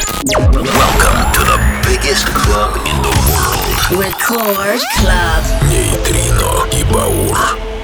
Welcome to the biggest club in the world. Record Club. Нейтрино и Баур.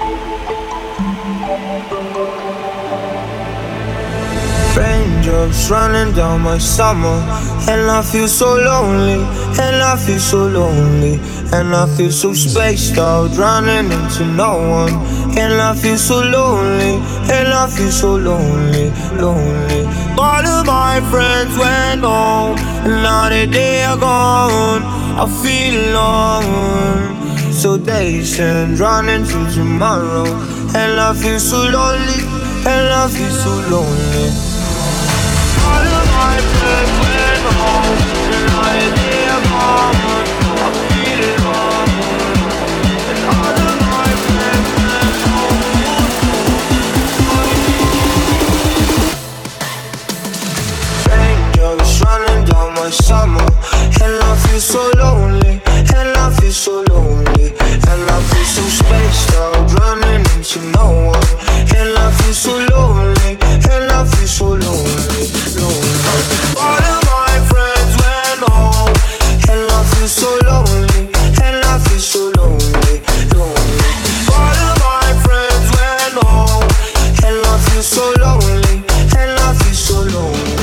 Raindrops running down my summer, and I feel so lonely, and I feel so lonely, and I feel so spaced out, running into no one, and I feel so lonely, and I feel so lonely, lonely. All of my friends went home, and now that they are gone, I feel alone. So days and running to tomorrow, and I feel so lonely, and I feel so lonely. All of my friends went home, and now that they are gone, I feel alone. And all of my friends went home. Raindrops running down my summer, and I feel so lonely, and I feel so lonely, and I feel so spaced out, running into no one, and I feel so lonely, and I feel so lonely, lonely. All of my friends went home, and I feel so lonely, and I feel so lonely, lonely. All of my friends went home, and I feel so lonely, and I feel so lonely.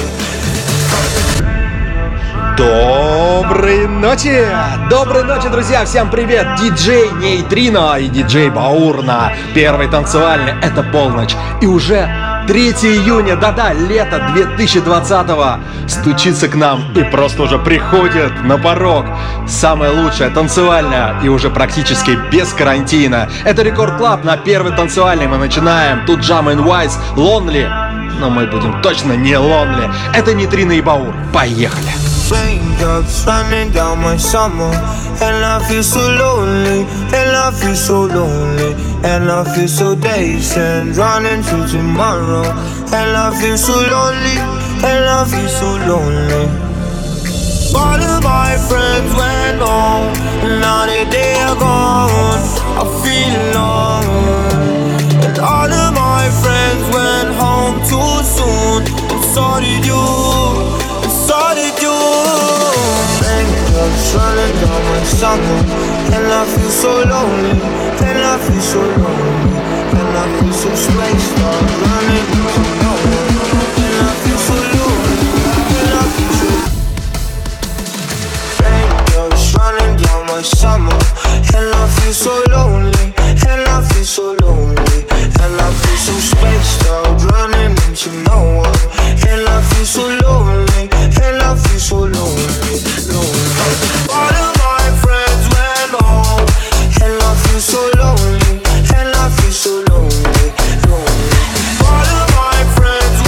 Доброй ночи, друзья! Всем привет! Диджей Нейтрино и диджей Баур на первой танцевальной. Это полночь. И уже 3 июня, да-да, лето 2020-го стучится к нам и просто уже приходит на порог. Самая лучшая танцевальная и уже практически без карантина. Это Рекорд Клаб на первой танцевальной. Мы начинаем. Тут Jam and Wise, Lonely. Но мы будем точно не Lonely. Это Нейтрино и Баур. Поехали! Raindrops running down my summer, and I feel so lonely, and I feel so lonely, and I feel so dazed and running to tomorrow, and I feel so lonely, and I feel so lonely. All of my friends went home, and now that they are gone, I feel alone. And all of my friends went home too soon, and so did you. So did you. Raindrops running down my summer, and I feel so lonely, and I feel so lonely, and I feel so spaced out, running into no one, and I feel so lonely, and I feel so. Raindrops running down my summer, and I feel so lonely, and I feel so lonely, and I feel so spaced out, running into no one, and I feel so lonely, and I feel so lonely, lonely. All of my friends went home, and I feel so lonely, and I feel so lonely, lonely. All of my friends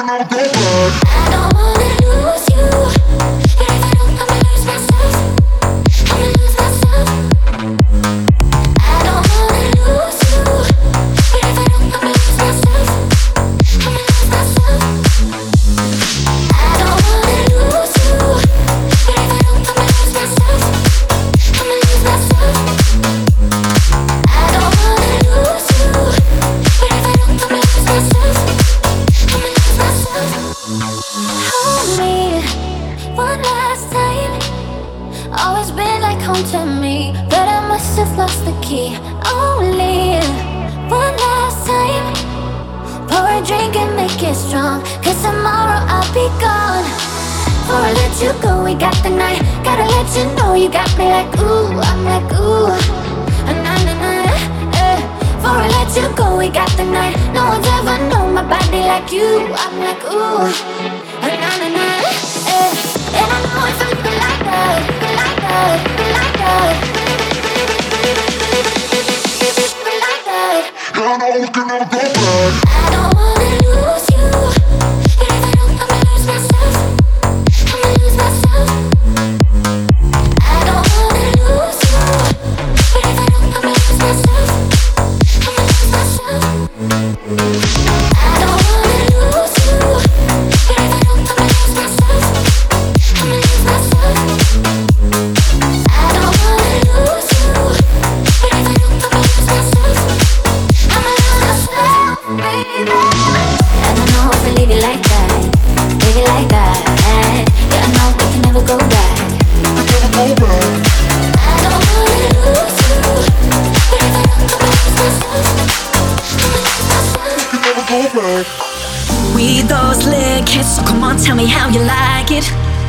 We those lit kids, so come on, tell me how you like it.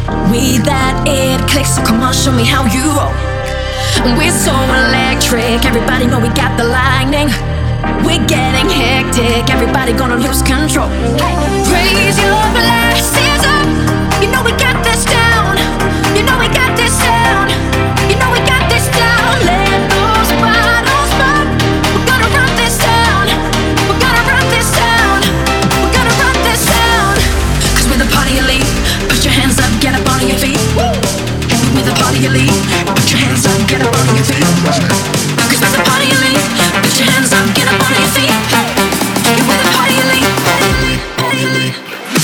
We that it clicks, so come on, show me how you roll. We're so electric, everybody know we got the lightning. We're getting hectic, everybody gonna lose control. Raise your glasses up, you know we got this down. You know we got this down. You know we got this down. Let those bottles pop. We're gonna run this down. We're gonna run this down. We're gonna run this down. Cause we're the party elite. Put your hands up, get up on your feet. We're the party elite. Put your hands up, get up on your feet. Cause we're the party elite. Put your hands up, get up on your feet. We're the party elite. Party elite.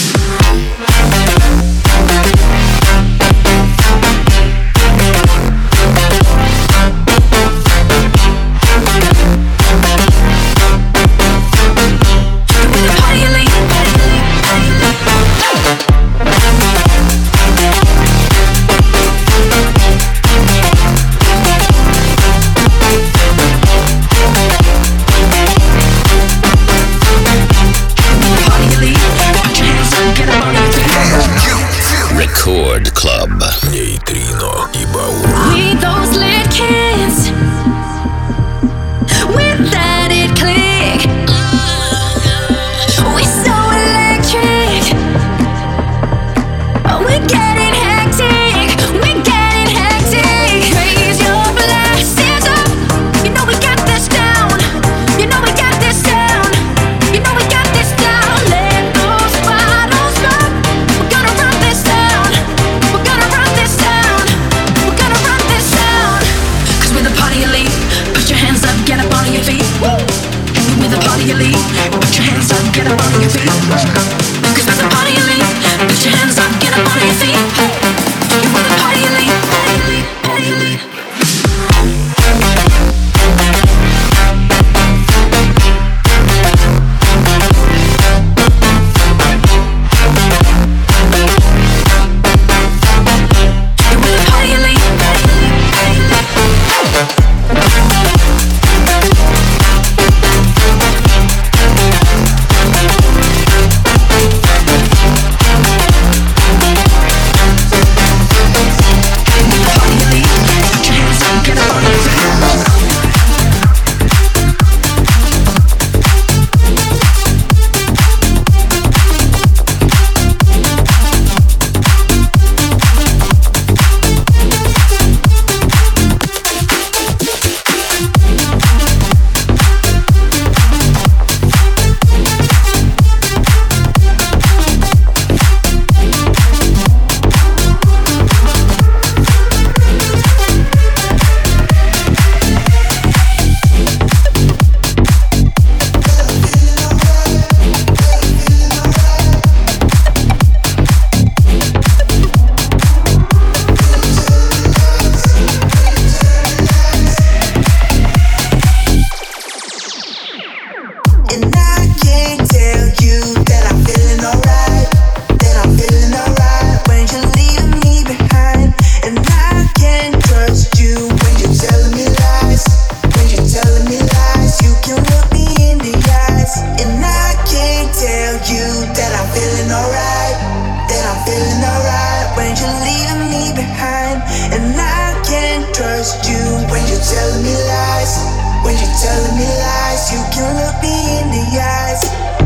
Record Club. Нейтрино и Баур. We those lit kids. With that it click. We so electric. We're getting hectic. We're getting hectic. Raise your glasses up. You know we got this down. You know we got this down. You know we got this down. Let those bottles pop. We're gonna run this down. We're gonna run this down. We're gonna run this down. Cause we're the party elite. Put your hands up, get up on your feet. We're the party elite. Put your hands up, get up on your feet. Cause we're the party elite. Put your hands up, get up on your feet. We're the party elite. Party elite. We're the party elite. feeling alright, then I'm feeling alright. When you're leaving me behind, and I can't trust you. When you're telling me lies, when you're telling me lies, you can look me in the eyes.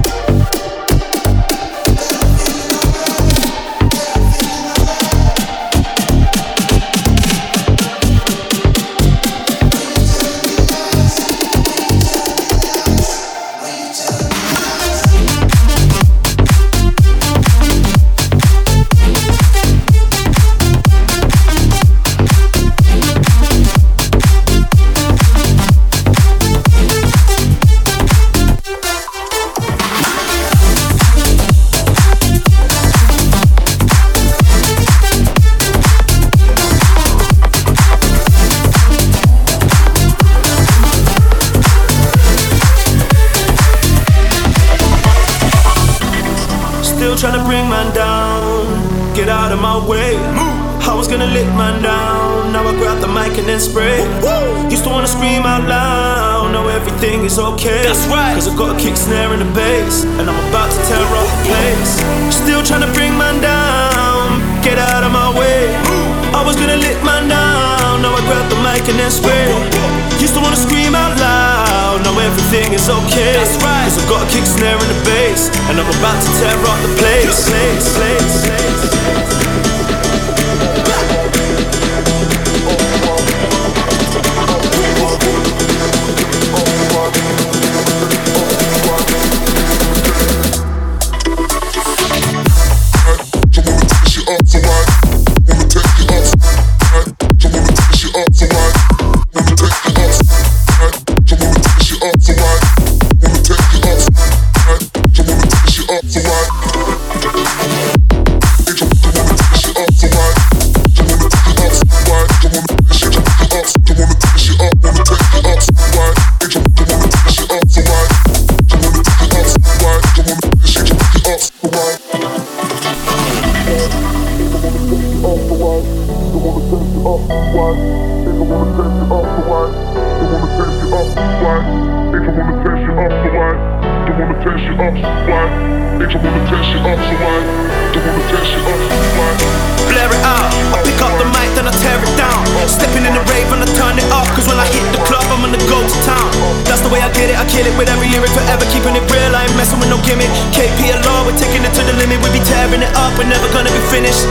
Trying to bring man down, get out of my way. I was gonna lick man down, now I grab the mic and then spray. Used to wanna scream out loud, now everything is okay. That's right, cause I got a kick snare in the bass, and I'm about to tear up the place. Still trying to bring man down, get out of my way. I was gonna lick man down, now I grab the mic and then spray. Used to wanna scream out loud, now everything is okay. That's right, cause I got a kick snare in the bass, and I'm about to tear up the place. Blare it out, I pick up the mic, then I tear it down. Stepping in the rave and I turn it up, cause when I hit the club, I'm gonna go to town. That's the way I get it, I kill it with every lyric, forever keeping it real, I ain't messing with no gimmick. KPLR, we're taking it to the limit, we be tearing it up, we're never gonna be finished.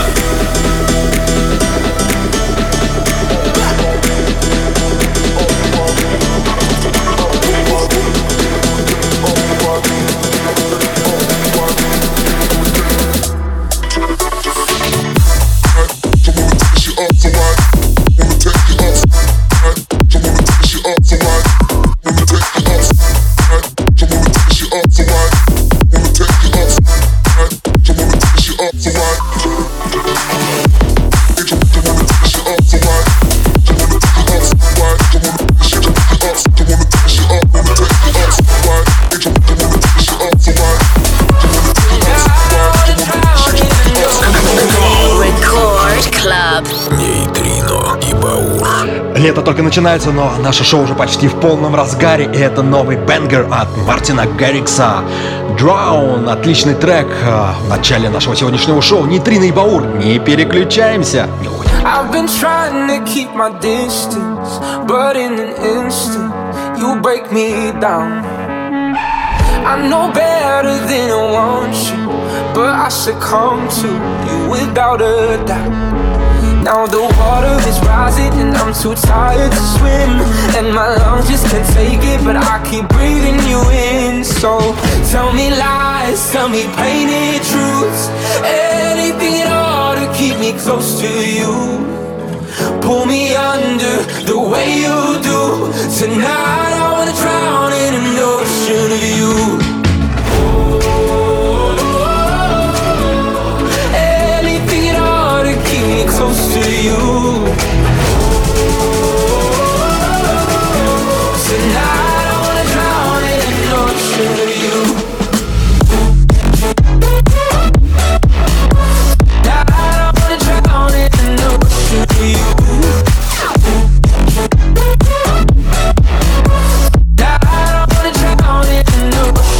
Лето только начинается, но наше шоу уже почти в полном разгаре, и это новый бенгер от Мартина Гаррикса. Drown, отличный трек в начале нашего сегодняшнего шоу. Нейтрино и Баур, не переключаемся. I've been trying to keep my distance, but in an instant, you break me down. I know better than I want you, but I succumb to you without a doubt. Now the water is rising and I'm too tired to swim, and my lungs just can't take it, but I keep breathing you in. So tell me lies, tell me painted truths, anything at all to keep me close to you. Pull me under the way you do. Tonight I wanna drown in an ocean of you. Close to you. Tonight I wanna drown in an ocean of you. Tonight I wanna drown in an ocean of you. Tonight I wanna drown in an ocean.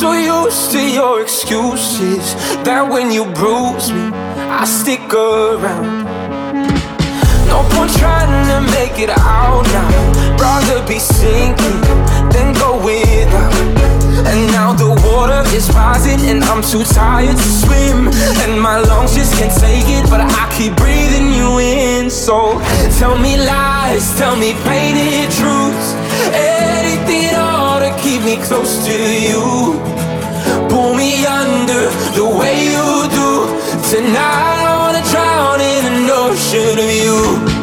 so used to your excuses that when you bruise me, I stick around. No point trying to make it out now. Rather be sinking than go without. And now the water is rising and I'm too tired to swim. And my lungs just can't take it, but I keep breathing you in. So tell me lies, tell me painted truths, anything at all to keep me close to you. Pull me under the way you do. Tonight I wanna drown in an ocean of you.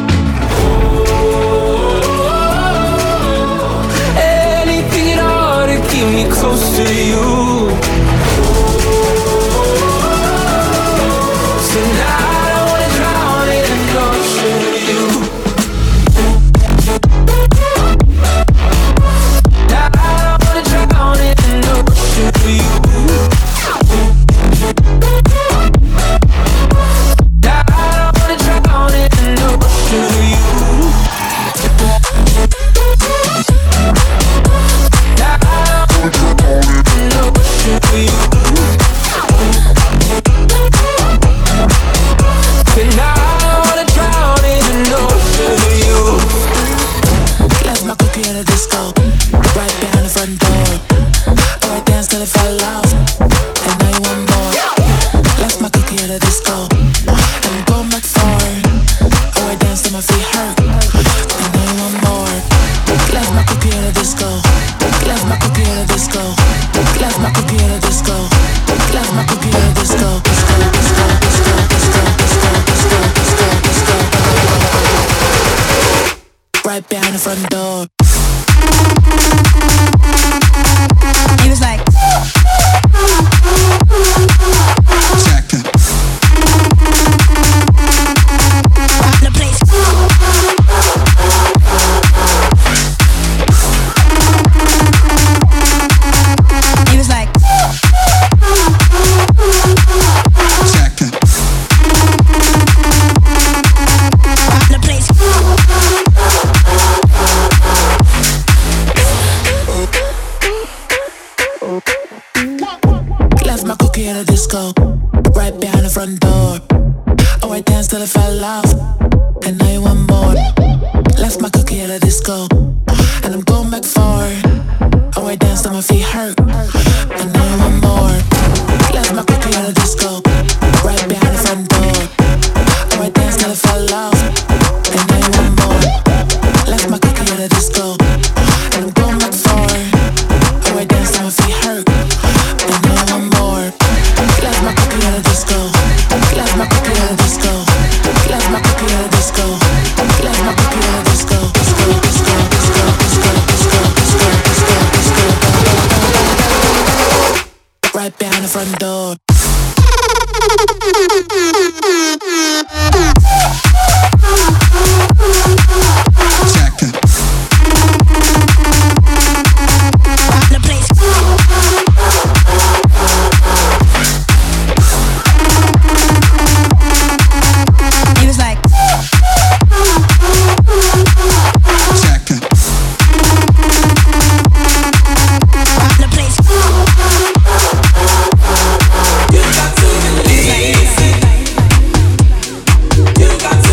Anything at all to keep me close to you. Tonight I wanna drown in an ocean of you. Tonight I wanna drown in an ocean of you. Right behind the front door. He was like, check it. The place. He was like, check it. The place. Left my cookie at a disco, right behind the front door. Oh, I danced till I fell off, and now you want more. Left my cookie at a disco, and I'm going back for it. Oh, I danced till my feet hurt, and now you want more. Left my cookie at a disco, right behind the front door. Oh, I danced till I fell off, and now you want more. Left my cookie at a disco, and I'm going back for it. Oh, I danced till my feet hurt, and now I want more. Left my cookie at a disco, left my cookie at a disco, left my cookie at a disco, left my cookie at a disco, disco, disco, disco, disco, disco, disco, disco, disco. Right behind the front door. Check it. The place. He was like, check it. The place. You got to believe it. You got to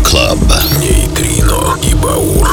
Club. Нейтрино и Баур.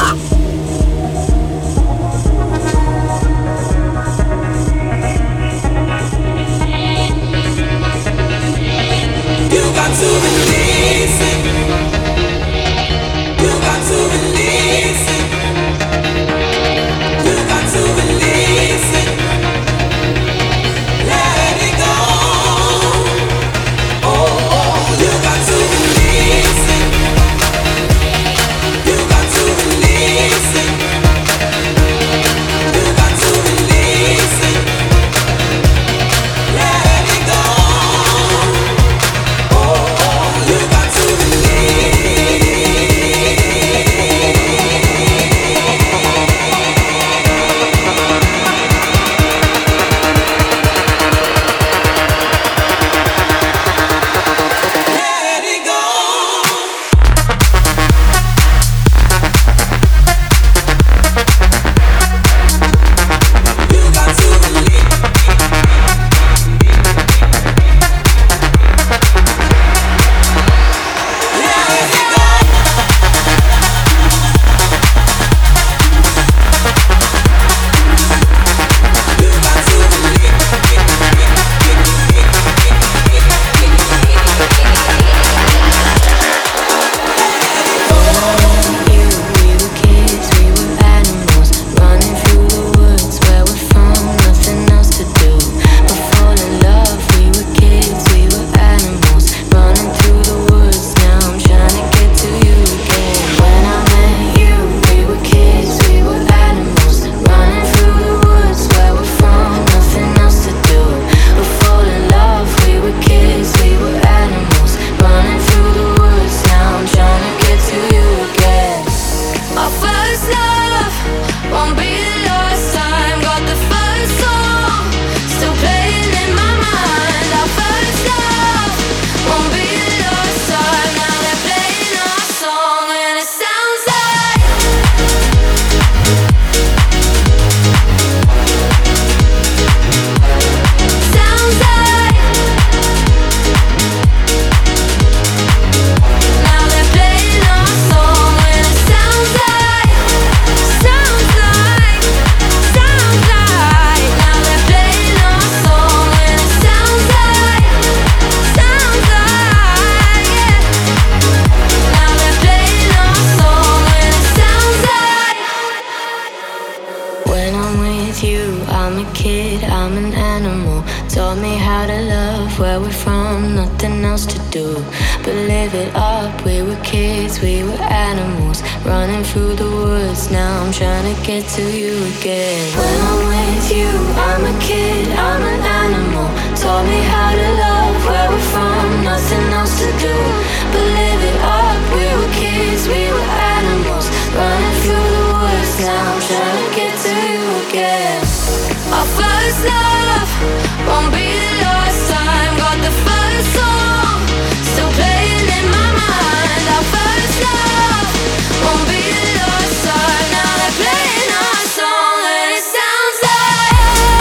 Get to you again. When I'm with you, I'm a kid, I'm an animal. Taught me how to love where we're from, nothing else to do but live it up. We were kids, we were animals, running through the woods. Now I'm trying to get to you again. Our first love won't be the last time. Got the first song still playing in my mind. Our first love won't be the last time. Now they're playing our song and it sounds like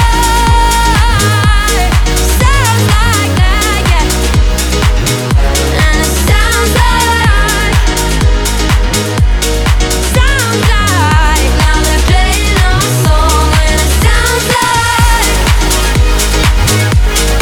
that, yeah. And it sounds like now they're playing our song and it sounds like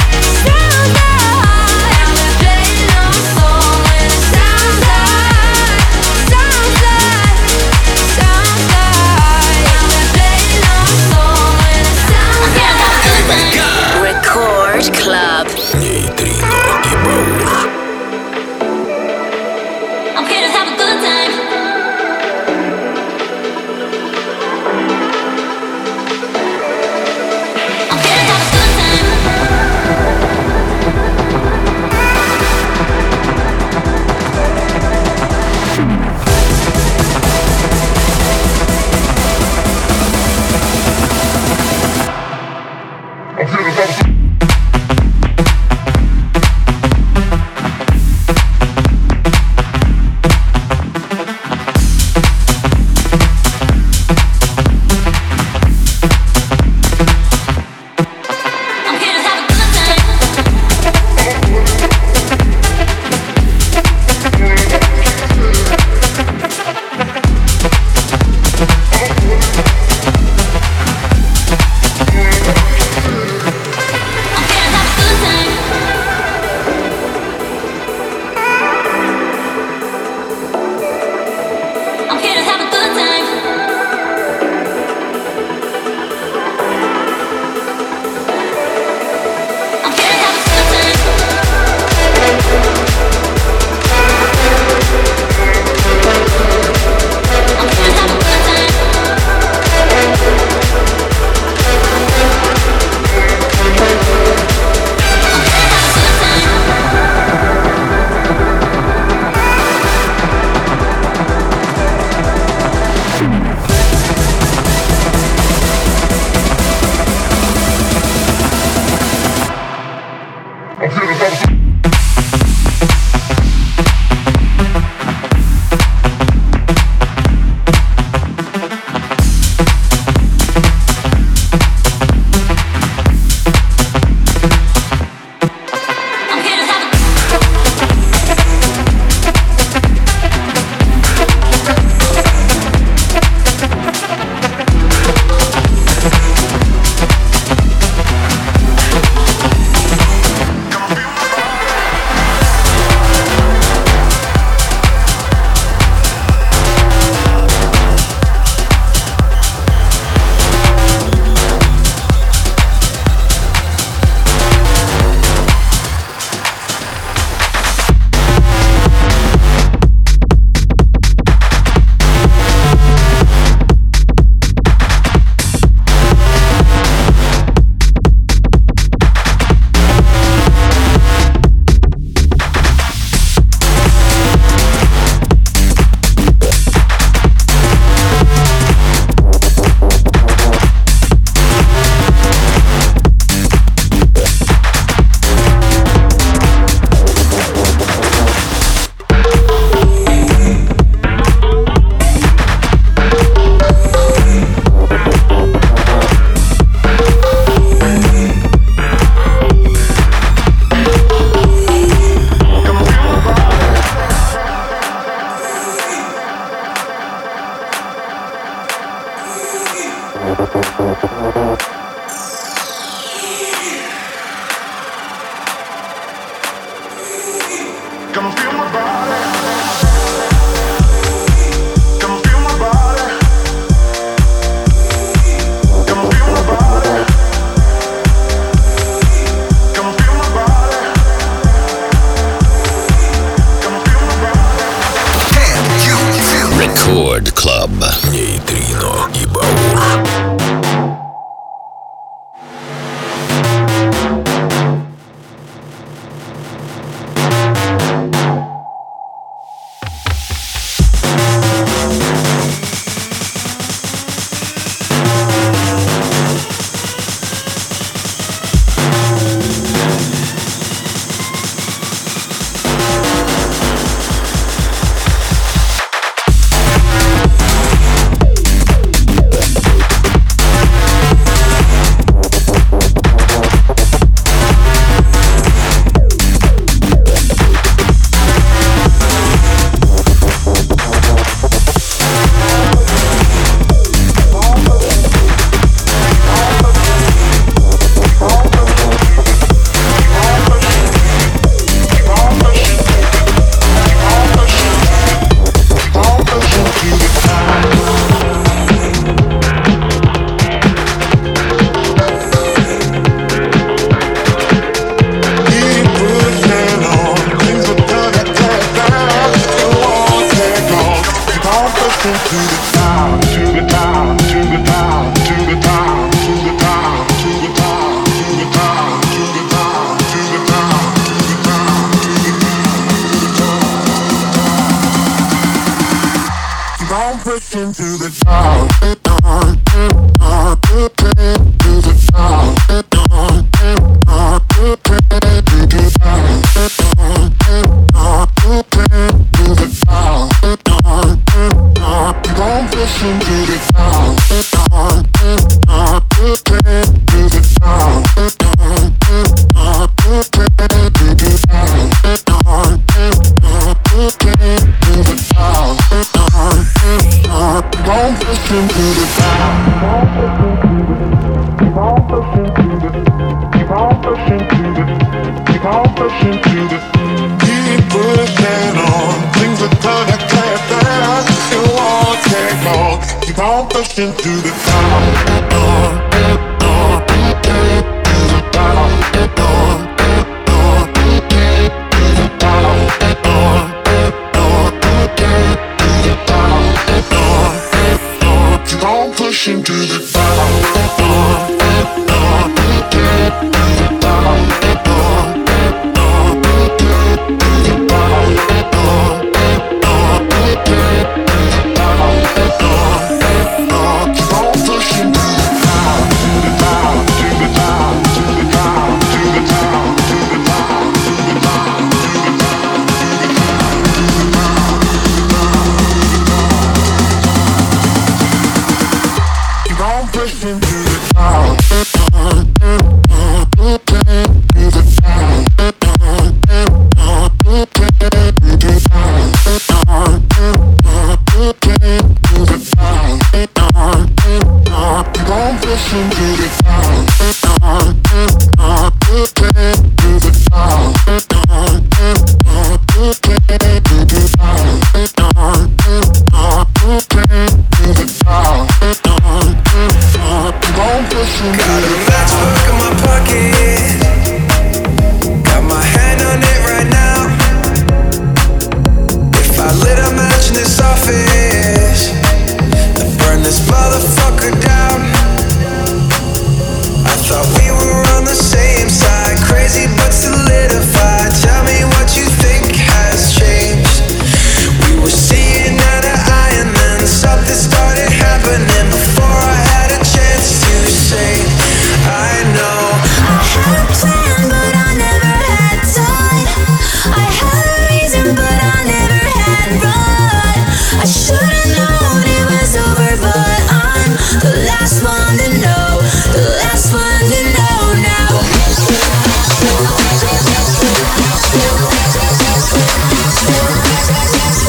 Рекорд Клаб. Нейтрино и Баур.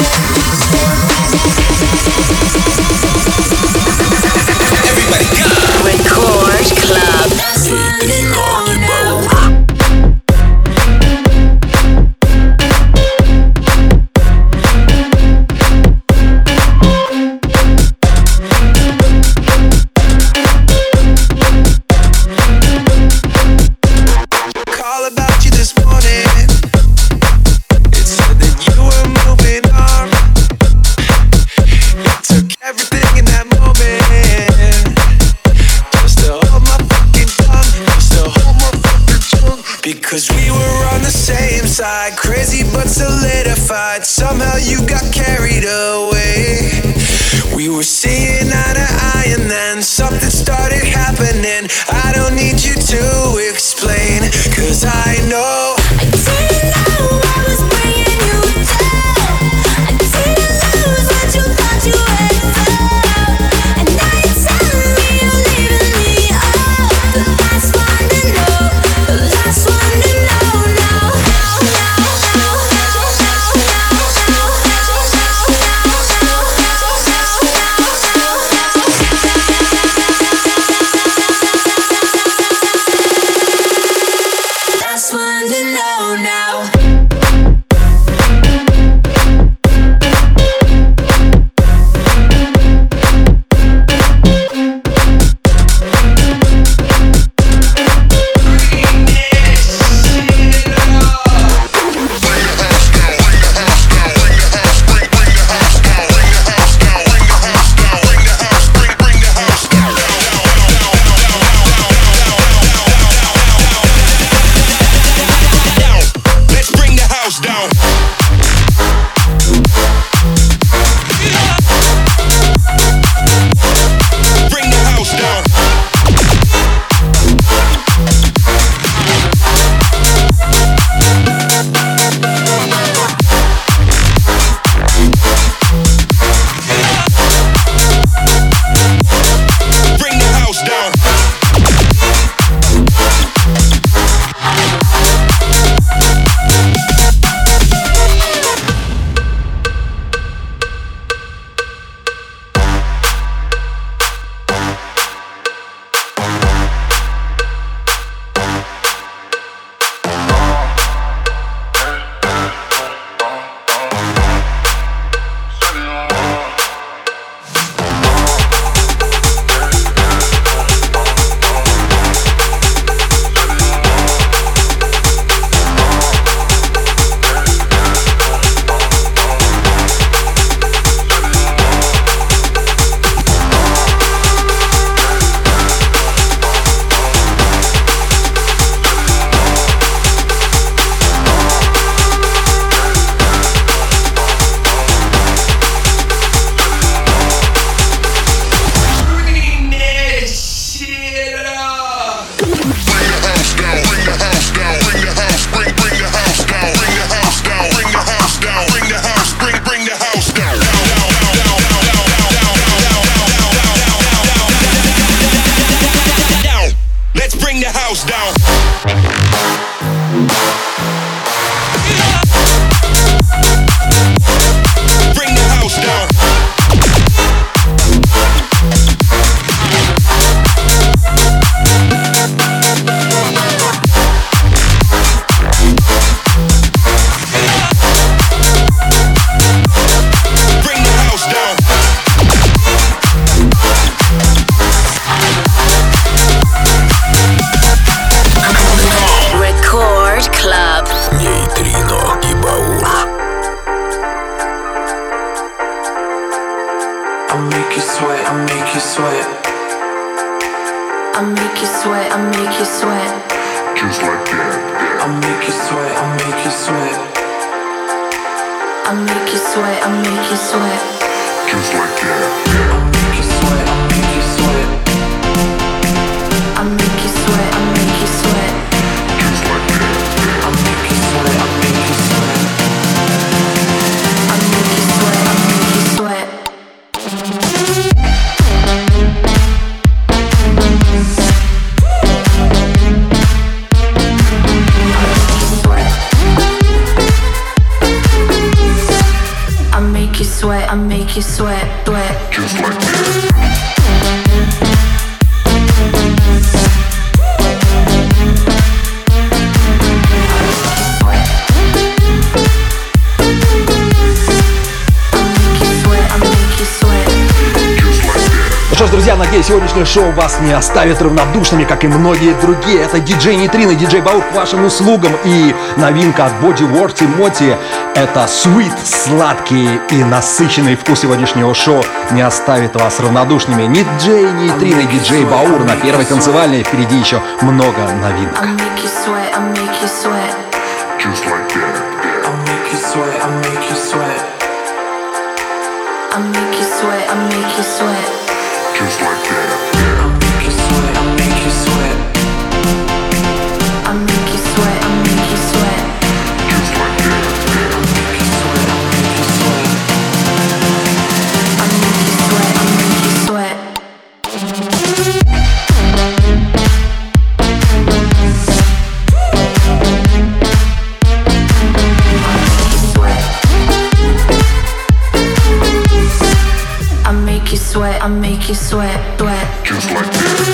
Everybody go! 'Cause we were on the same side, crazy but solidified. Somehow you got carried away. We were seeing eye to eye and then something started happening. I don't need you to explain, 'cause I know. I didn't know I was bringing you down. I didn't lose what you thought you had found. And now you're telling me you're leaving me. Oh, the last one to know, the last one to know now. Last one to know now. дорогие, сегодняшнее шоу вас не оставит равнодушными, как и многие другие. Это диджей Нейтрино, диджей Баур к вашим услугам. И новинка от Body Work Моти — это sweet, сладкий и насыщенный вкус сегодняшнего шоу не оставит вас равнодушными. Диджей Нейтрино, диджей Баур на первой танцевальной. Впереди еще много новинок. Just like that. I'll make you sweat, I'll make you sweat. I'll make you sweat, I'll make you sweat. Just like that. I'll make you sweat, I'll make you sweat. I'll make you sweat, I'll make you sweat. Just like that. I'll make you sweat, I'll make you sweat. I'll make you sweat, I'll make you sweat. Sweat, I make you sweat, sweat. Just like that.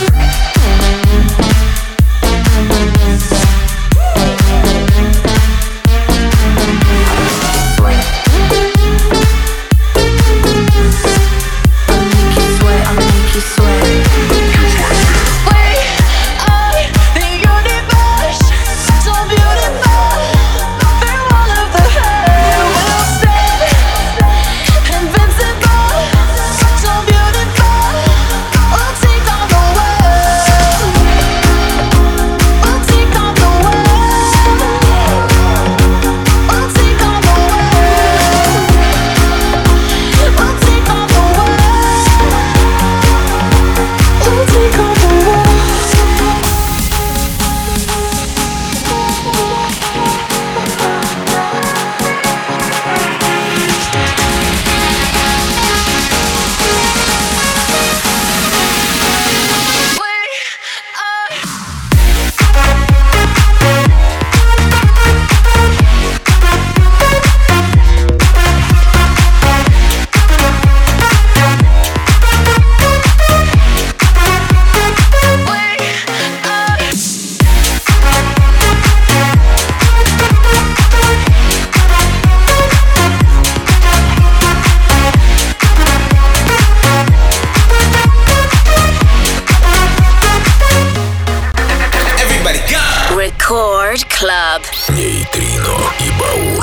Нейтрино и Баур.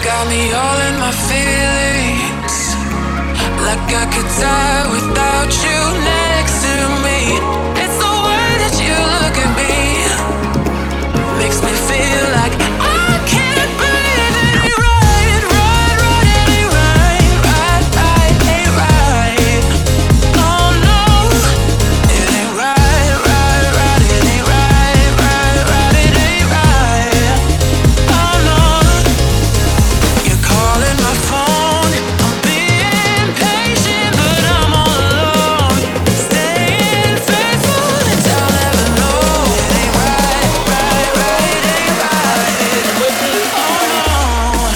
got me all in my feelings, like I could die without you next to me. It's the way that you look at me, makes me feel like I can't breathe. It ain't right, right, right. It ain't right, right, right. Ain't right. Oh no, it ain't right, right, right. It ain't right, right, right. It ain't right. Oh no, you're calling my phone. I'm being patient, but I'm all alone. Staying faithful and I'll never know. It ain't right, right, right. It ain't right. Oh no.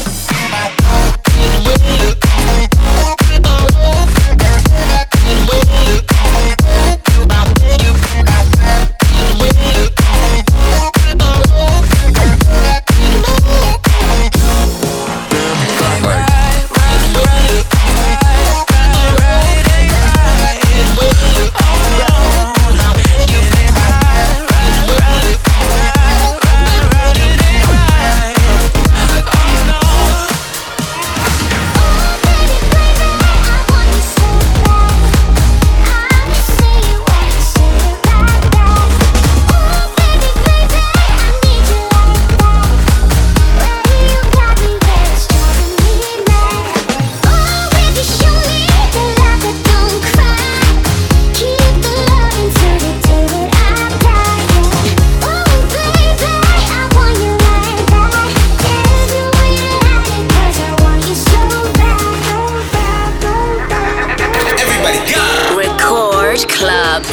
Record Club.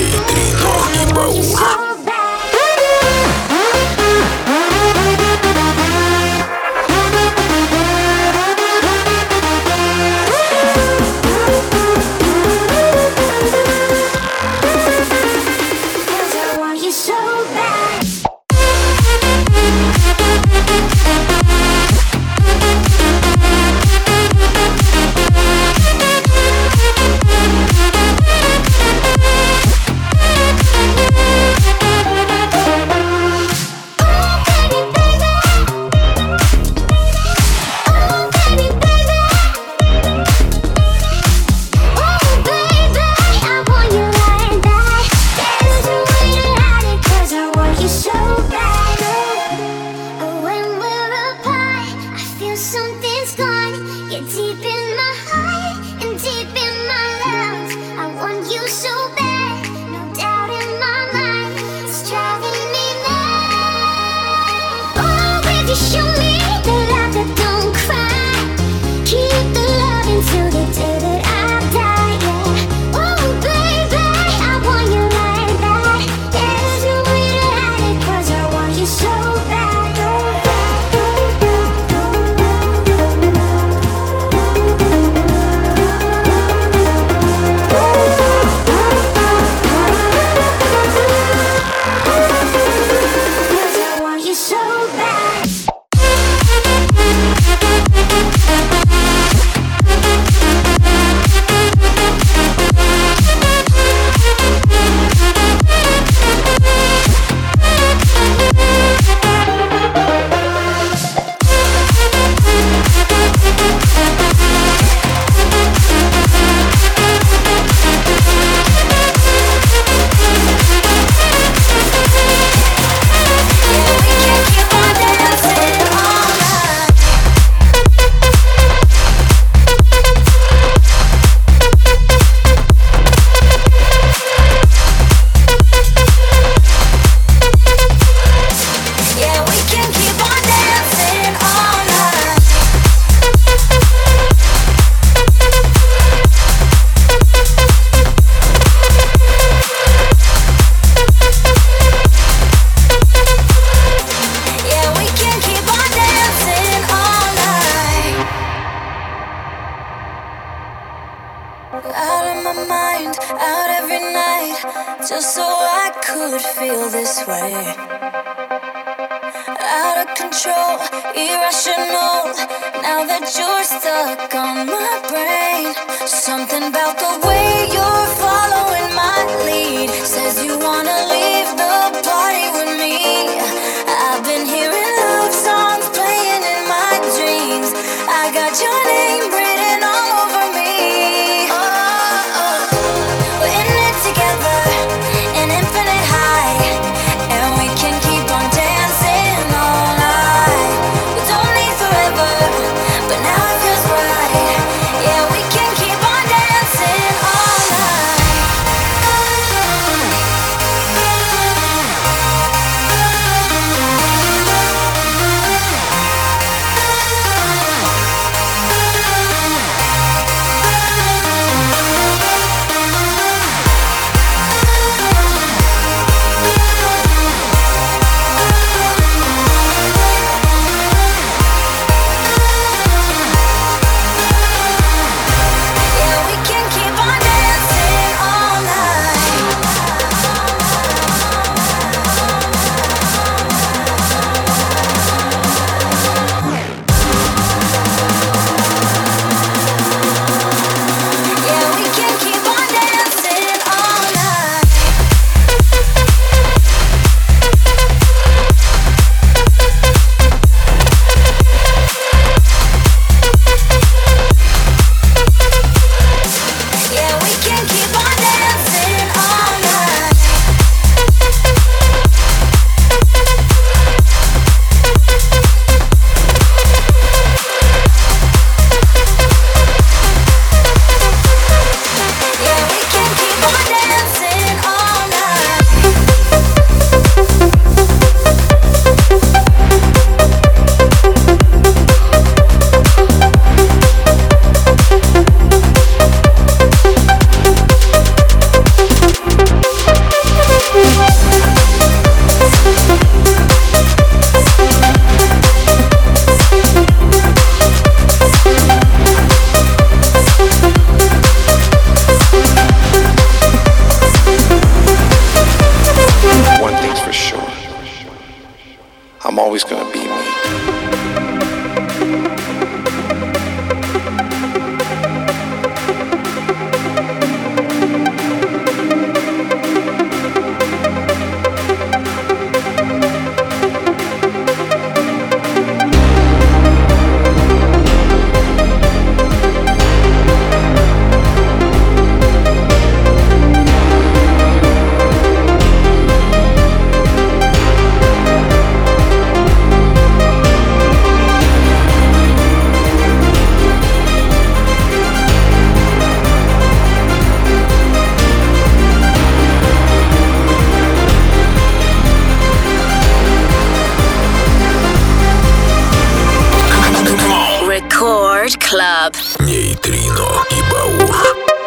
just so I could feel this way. Out of control, irrational. Now that you're stuck on my brain, something about the way you're following my lead says you wanna leave the party with me. I've been hearing love songs playing in my dreams. club. Нейтрино и Баур.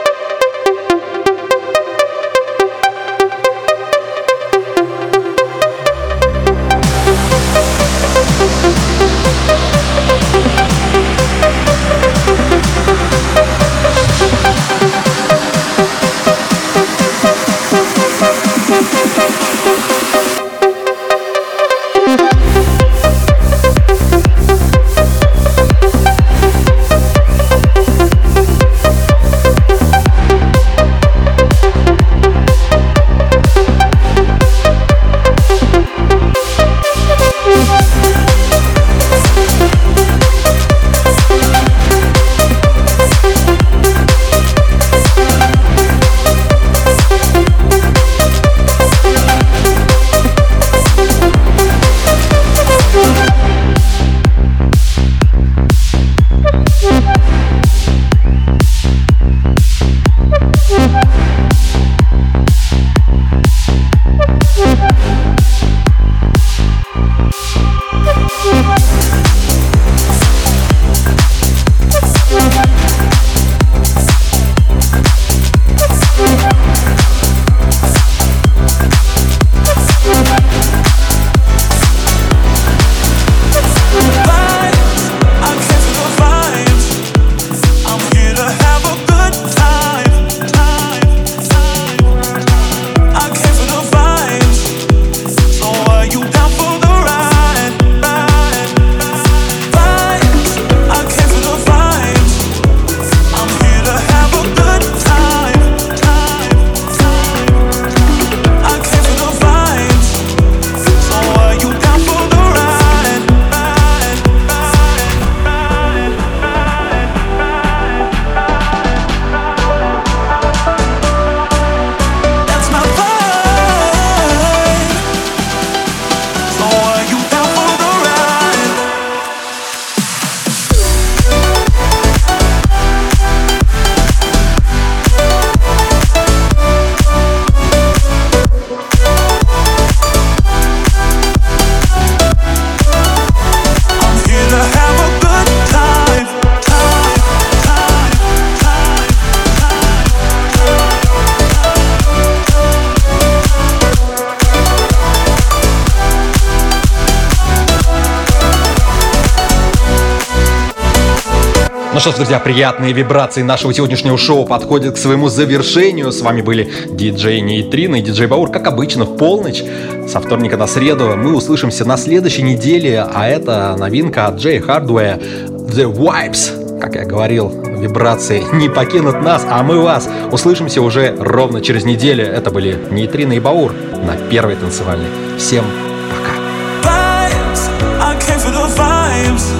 Ну что ж, друзья, приятные вибрации нашего сегодняшнего шоу подходят к своему завершению. С вами были диджей Нейтрино и диджей Баур, как обычно, в полночь, со вторника на среду. Мы услышимся на следующей неделе, а это новинка от Jay Hardware, The Vibes. Как я говорил, вибрации не покинут нас, а мы вас. Услышимся уже ровно через неделю. Это были Нейтрино и Баур на Первой танцевальной. Всем пока. Vibes, I came for the vibes.